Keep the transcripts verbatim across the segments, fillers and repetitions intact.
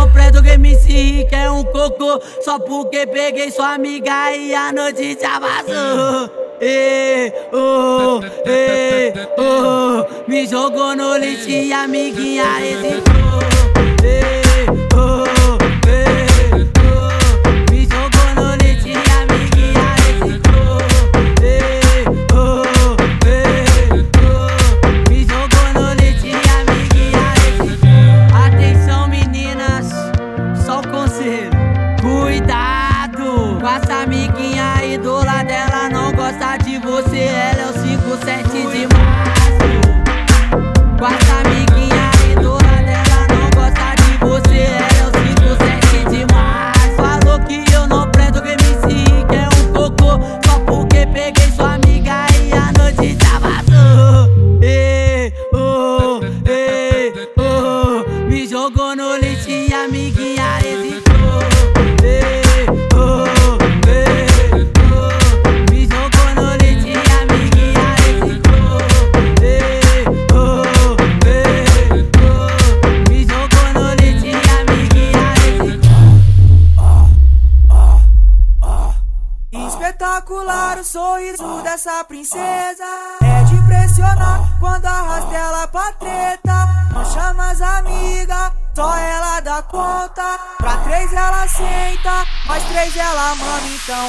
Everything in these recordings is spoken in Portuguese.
não presto que M C Rick é um cocô. Só porque peguei sua amiga e a notícia vazou. Ei, oh, ei, oh, me jogou no lixo e a amiguinha hesitou. Ei, oh, ei, oh, me jogou no lixo e a amiguinha hesitou. Ei, oh, ei, oh, me jogou no lixo e a amiguinha hesitou. Atenção meninas, só o conselho. Cuidado com essa amiguinha, a idola dela não gosta de você. Ela é o cinco sete de março. Com essa amiguinha, a idola dela não gosta de você. Ela é o cinco sete de março. Falou que eu não presto que M C Rick é um cocô. Só porque peguei sua amiga e a notícia vazou. Ei, oh, ei, oh, me jogou no lixo e a amiguinha hesitou. Ei, oh, ei, oh, me jogou no lixo e a amiguinha hesitou. Ei, oh, ei, oh, me jogou no lixo e a amiguinha hesitou. Espetacular o sorriso dessa princesa, é de impressionar quando arrasta ela pra treta. Não chama as amigas, só ela dá conta. Pra três ela senta, mais três ela mama então.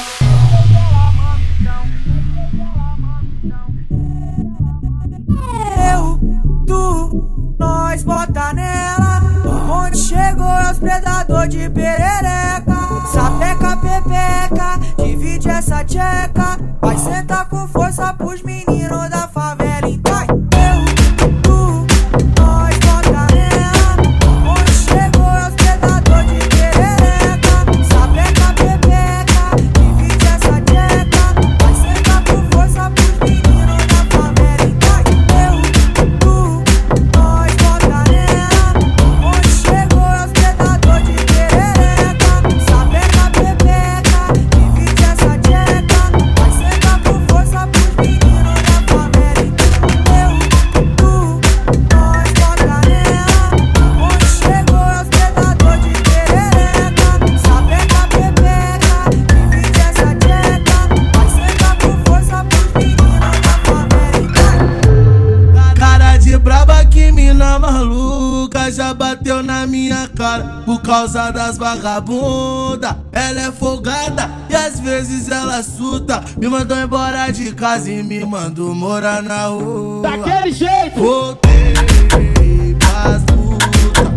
Eu, tu, nós bota nela. Onde chegou é os predador de perereca. Sapeca, pepeca, divide essa tcheca. Vai sentar com força pros meninos da favela então. Eu, tu, nós bota nela. Onde chegou é os predador de perereca. Sapeca, pepeca, divide essa tcheca. Vai sentar com força pros meninos da favela então. Eu, tu, nós bota nela. Onde chegou é os predador de perereca. Sapeca, pepeca, divide essa tcheca. Vai sentar com força pros meninos da favela então. Eu, tu, nós bota nela. Onde chegou é os predador de perereca. Sapeca, pepeca, divide essa tcheca. Vai sentar com força pros meninos da favela então. Cara de braba, que mina maluca, já bateu na minha cara por causa das vagabunda. Ela é folgada e às vezes ela surta. Me mandou embora de casa e me mandou morar na rua. Daquele jeito! Voltei pras putas,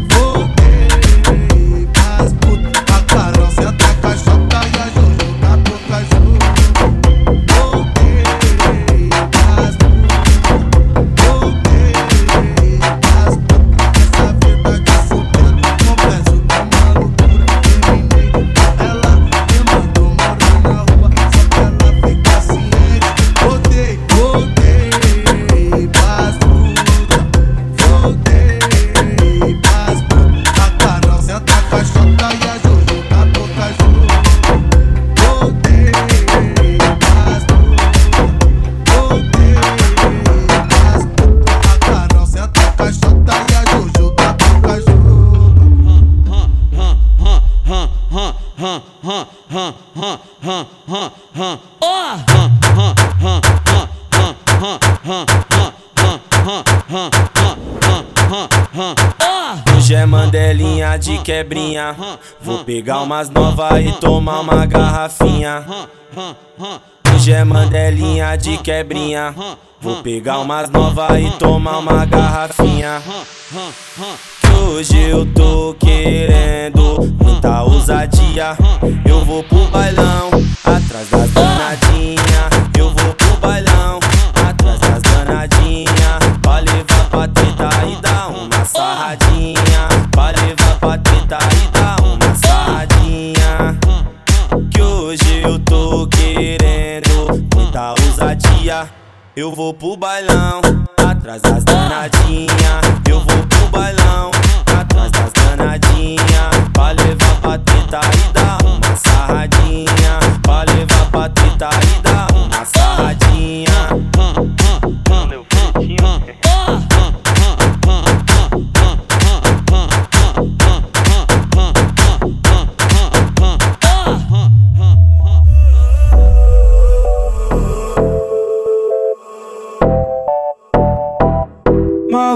voltei pras putas. A Carol senta a caixota e a Jojo tá por caju. Voltei pras putas, voltei pras putas. Essa vida de solteiro, confesso que é uma loucura. Terminei, ela me mandou morar na rua, só pra ela ficar ciente. Voltei, voltei pras putas, voltei pras putas. A Carol senta a caixota e a Jojo tá por caju. Voltei pras putas, voltei pras putas. A Carol senta a caixota e a Jojo tá por caju. Hoje é mandelinha de quebrinha. Vou pegar umas novas e tomar uma garrafinha. Hoje é mandelinha de quebrinha. Vou pegar umas novas e tomar uma garrafinha. Hoje eu tô querendo muita ousadia. Eu vou pro bailão, atrás das danadinhas. Eu vou pro bailão, atrás das danadinhas. Pra levar pra teta e dar uma sarradinha. Pra levar pra teta e dar uma sarradinha. Que hoje eu tô querendo muita ousadia. Eu vou pro bailão, atrás das danadinhas. Eu vou pro bailão, atrás das danadinhas. Pra levar pra teta e dar uma sarradinha. Pra levar pra teta e dar uma sarradinha. Meu pretinho.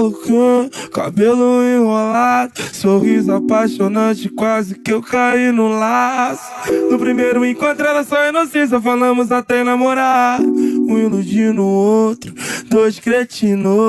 Malucão, cabelo enrolado, sorriso apaixonante, quase que eu caí no laço. No primeiro encontro era só inocência, falamos até namorar. Um iludindo o outro, dois cretinos.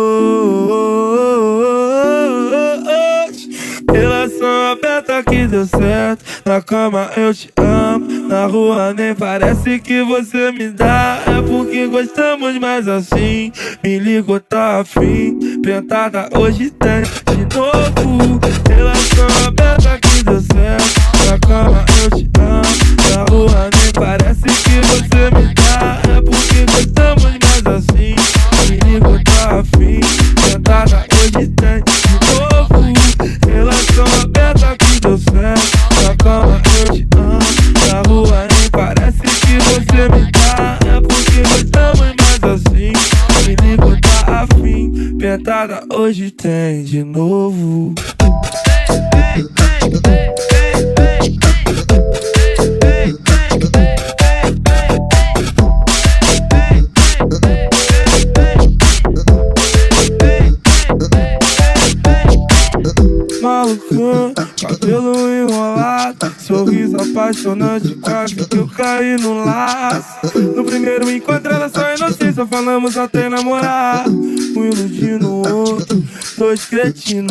Relação aberta que deu certo, na cama eu te amo, na rua nem parece que você me dá. É porque gostamos mais assim, me ligou, tá afim, pentada hoje tem de novo. Relação aberta que deu certo, na cama eu te amo, na rua nem parece que você me dá. É porque gostamos mais assim, me ligou, tá afim, pentada hoje tem de novo. Relação aberta que deu certo, na cama eu te amo, na rua nem parece que você me dá. É porque gostamos mais assim, me ligo, tá afim, pentada hoje tem de novo. Malucão, cabelo enrolado, sorriso apaixonante, quase que eu caí no laço. No primeiro encontro era só inocência, falamos até namorar. Um iludindo o outro, dois cretinos.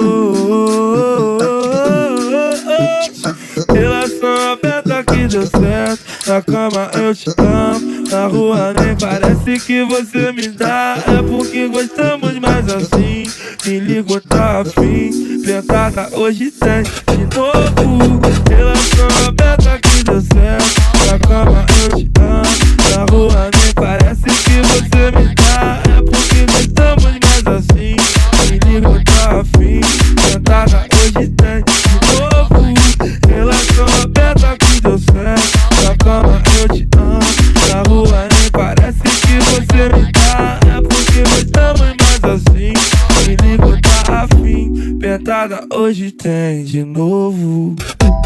Relação aberta que deu certo, na cama eu te amo, na rua nem parece que você me dá. É porque gostamos mais assim, me ligo, tá afim, pentada hoje tem de novo. Relação aberta que deu certo, na cama eu te amo, na rua nem parece que você me dá. É porque gostamos mais assim, me ligo, tá afim, pentada hoje tem de novo. Relação aberta que deu certo, na cama eu te amo, na rua nem parece que você me dá. É porque gostamos mais assim, me ligo, tá afim, pentada hoje tem de novo.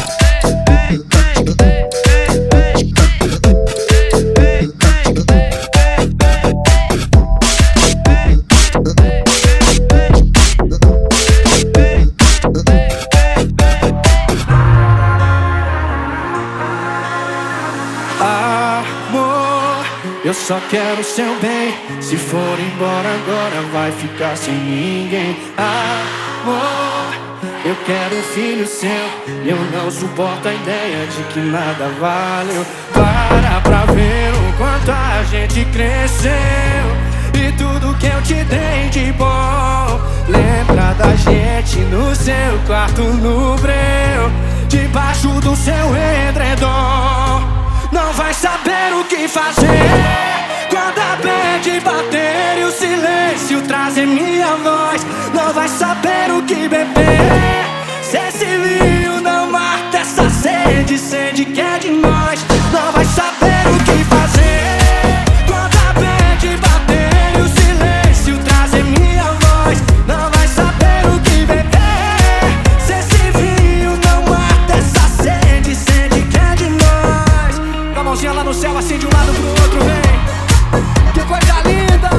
Amor, eu só quero seu bem. Se for embora agora vai ficar sem ninguém. Amor, eu quero um filho seu. Eu não suporto a ideia de que nada valeu. Para pra ver o quanto a gente cresceu e tudo que eu te dei de bom. Lembra da gente no seu quarto no breu, debaixo do seu edredom. Não vai saber o que fazer quando a bad bater e o silêncio trazer minha voz. Não vai saber o que beber se esse vinho não mata essa sede, sede que é de nós. Não vai saber o que fazer quando a bad bater e o silêncio trazer minha voz. Não vai saber o que beber se esse vinho não mata essa sede, sede que é de nós. Com a mãozinha lá no céu, assim de um lado pro outro, vem. Que coisa linda!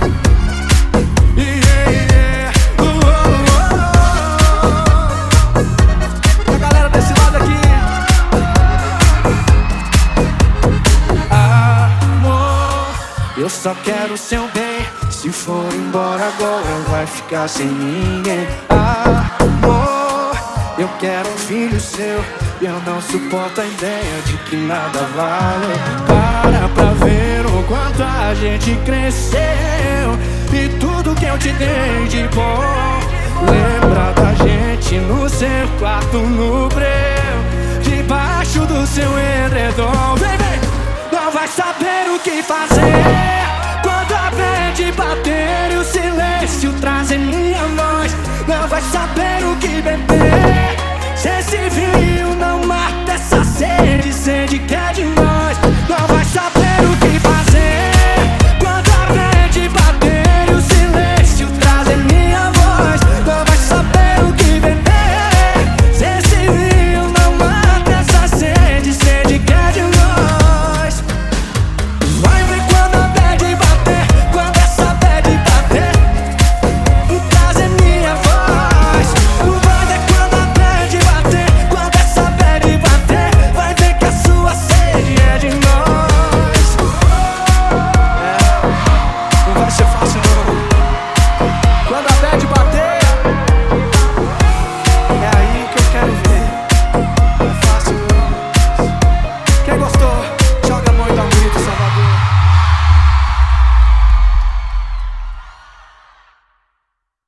Yeah, yeah. Uh, uh, uh, uh. A galera desse lado aqui. Amor, eu só quero seu bem. Se for embora agora vai ficar sem ninguém. Amor, eu quero um filho seu. Eu não suporto a ideia de que nada vale. Para pra ver o quanto a gente cresceu e tudo que eu te dei de bom. Lembra da gente no seu quarto no breu, debaixo do seu edredom. Vem, vem! Não vai saber o que fazer quando a bad bater e o silêncio trazer minha voz. Não vai saber o que beber